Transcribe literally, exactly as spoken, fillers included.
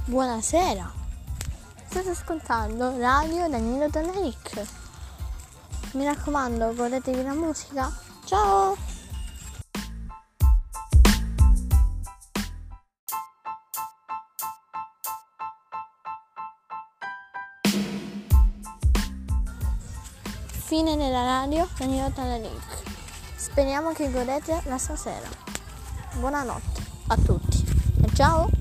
Buonasera, state ascoltando Radio Danilo Dannaric. Mi raccomando, godetevi la musica. Ciao! Fine della radio Danilo Dannaric. Speriamo che godete la stasera. Buonanotte a tutti e ciao!